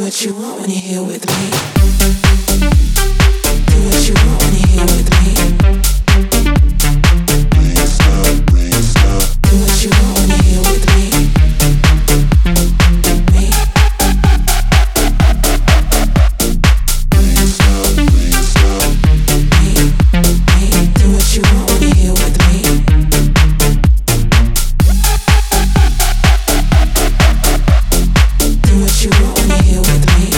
what you want when you're here with me. Do what you want when you're here with me. Do what you want when you're here with me. Me. Me. Do what you want when you're here with me. Do what you want when you're here with me.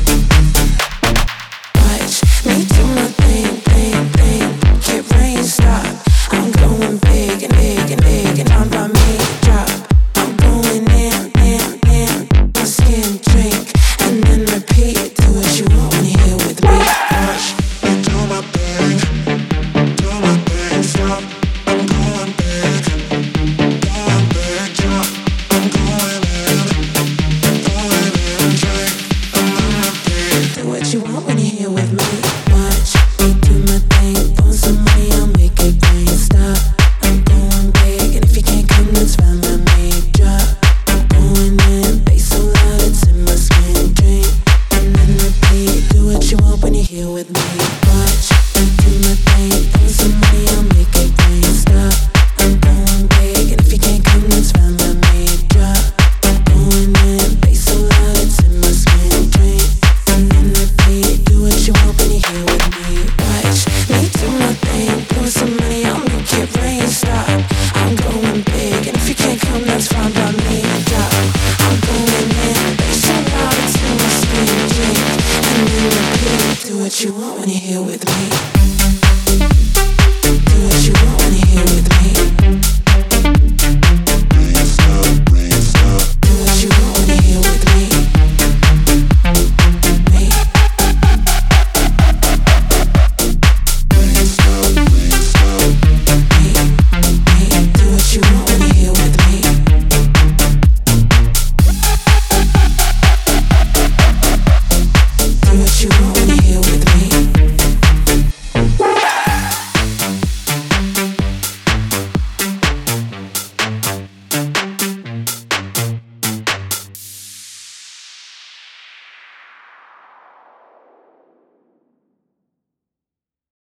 Watch me do my thing, get rain, stop. I'm going big and big and big and I'm by me, drop. I'm going in, my skin drink and then repeat. Do what you want when you're here with me. Watch me do my thing, stop. I'm going big, drop. I'm going in, drink and then repeat. Do what you want when you're here with me. Watch me do my thing, for some money I'll make it rain, stop. I'm going big and if you can't come that's fine by me, drop. I'm going in, bass so loud it's in my skin, drink and then repeat. Do what you want when you're here with me. Watch me do my thing, for some money I'll make it rain, stop. I'm going big and if you can't come that's fine by me, drop. I'm going in, bass so loud it's in my skin, drink and then repeat. Do what you want when you're here with me. Watch me do my thing, pour some money, I'll make it rain, stop. I'm going big, and if you can't come, that's fine by me, drop. I'm going in, bass so loud it's in my skin, drink and then repeat. Do what you want when you're here with me.